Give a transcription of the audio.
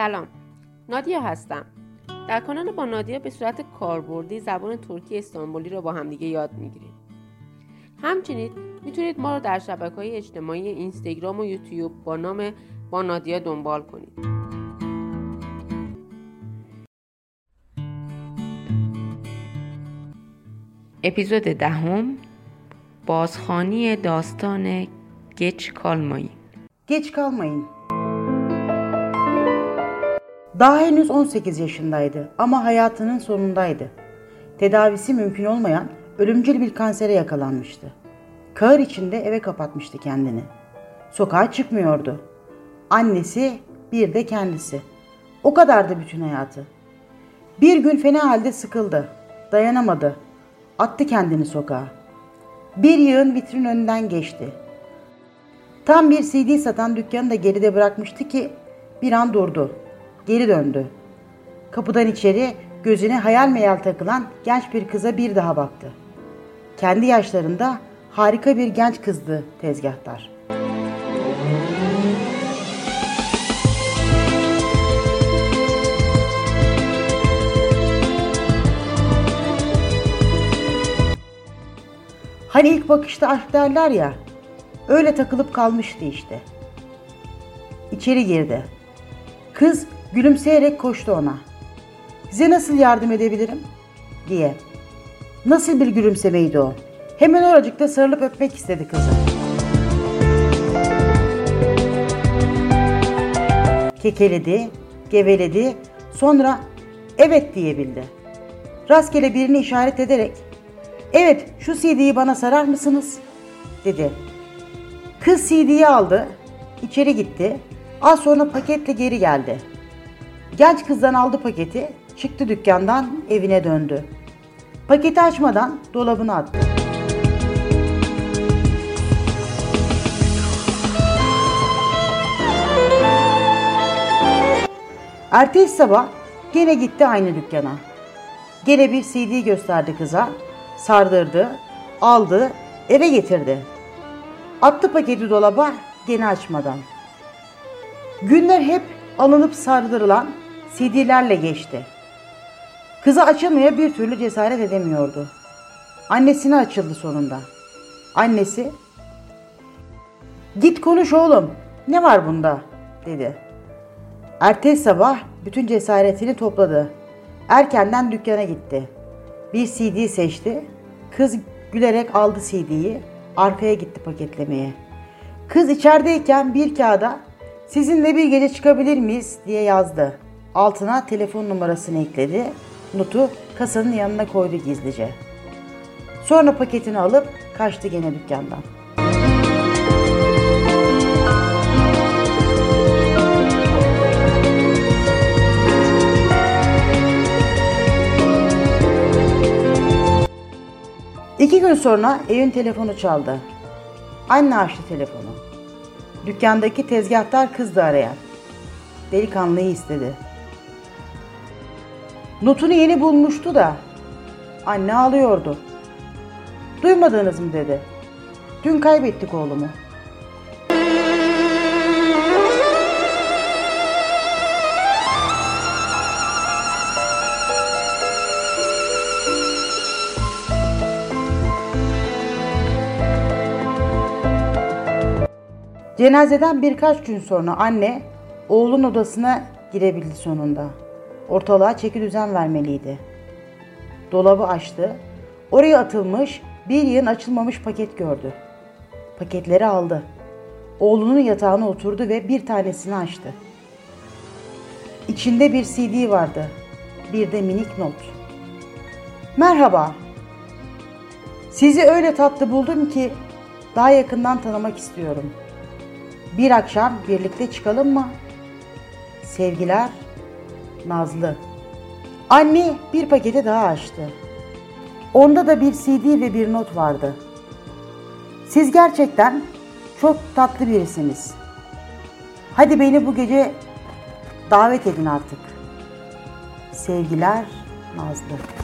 سلام، نادیا هستم. در کانال با نادیا به صورت کاربردی زبان ترکی استانبولی رو با همدیگه یاد میگیریم. همچنین میتونید ما رو در شبکه‌های اجتماعی اینستاگرام و یوتیوب با نام با نادیا دنبال کنید. اپیزود 10 بازخوانی داستان Geç kalmayın. Geç kalmayın. Daha henüz 18 yaşındaydı ama hayatının sonundaydı. Tedavisi mümkün olmayan ölümcül bir kansere yakalanmıştı. Kahır içinde eve kapatmıştı kendini. Sokağa çıkmıyordu. Annesi, bir de kendisi. O kadardı bütün hayatı. Bir gün fena halde sıkıldı. Dayanamadı. Attı kendini sokağa. Bir yığın vitrin önünden geçti. Tam bir CD satan dükkanı da geride bırakmıştı ki bir an durdu. Geri döndü. Kapıdan içeri gözüne hayal meyal takılan genç bir kıza bir daha baktı. Kendi yaşlarında harika bir genç kızdı tezgahtar. Hani ilk bakışta aşk derler ya, öyle takılıp kalmıştı işte. İçeri girdi. Kız gülümseyerek koştu ona. "Size nasıl yardım edebilirim?" diye. Nasıl bir gülümsemeydi o. Hemen oracıkta sarılıp öpmek istedi kızı. Kekeledi, geveledi, sonra evet diyebildi. Rastgele birini işaret ederek, "Evet, şu CD'yi bana sarar mısınız?" dedi. Kız CD'yi aldı, içeri gitti. Az sonra paketle geri geldi. Genç kızdan aldı paketi, çıktı dükkandan, evine döndü. Paketi açmadan dolabına attı. Ertesi sabah gene gitti aynı dükkana. Gene bir CD gösterdi kıza, sardırdı, aldı, eve getirdi. Attı paketi dolaba, gene açmadan. Günler hep alınıp sardırılan CD'lerle geçti. Kızı açamaya bir türlü cesaret edemiyordu. Annesine açıldı sonunda. Annesi, "Git konuş oğlum, ne var bunda?" dedi. Ertesi sabah bütün cesaretini topladı. Erkenden dükkana gitti. Bir CD seçti. Kız gülerek aldı CD'yi, arkaya gitti paketlemeye. Kız içerideyken bir kağıda "Sizinle bir gece çıkabilir miyiz?" diye yazdı. Altına telefon numarasını ekledi. Notu kasanın yanına koydu gizlice. Sonra paketini alıp kaçtı gene dükkandan. İki gün sonra evin telefonu çaldı. Anne açtı telefonu. Dükkandaki tezgahtar kızdı arayan. Delikanlıyı istedi. Notunu yeni bulmuştu da anne ağlıyordu. "Duymadınız mı?" dedi. "Dün kaybettik oğlumu." Cenazeden birkaç gün sonra anne oğlun odasına girebildi sonunda. Ortalığa çekidüzen vermeliydi. Dolabı açtı. Oraya atılmış bir yığın açılmamış paket gördü. Paketleri aldı. Oğlunun yatağına oturdu ve bir tanesini açtı. İçinde bir CD vardı. Bir de minik not. "Merhaba. Sizi öyle tatlı buldum ki daha yakından tanımak istiyorum. Bir akşam birlikte çıkalım mı? Sevgiler, Nazlı." Anne bir paketi daha açtı. Onda da bir CD ve bir not vardı. "Siz gerçekten çok tatlı birisiniz. Hadi beni bu gece davet edin artık. Sevgiler, Nazlı."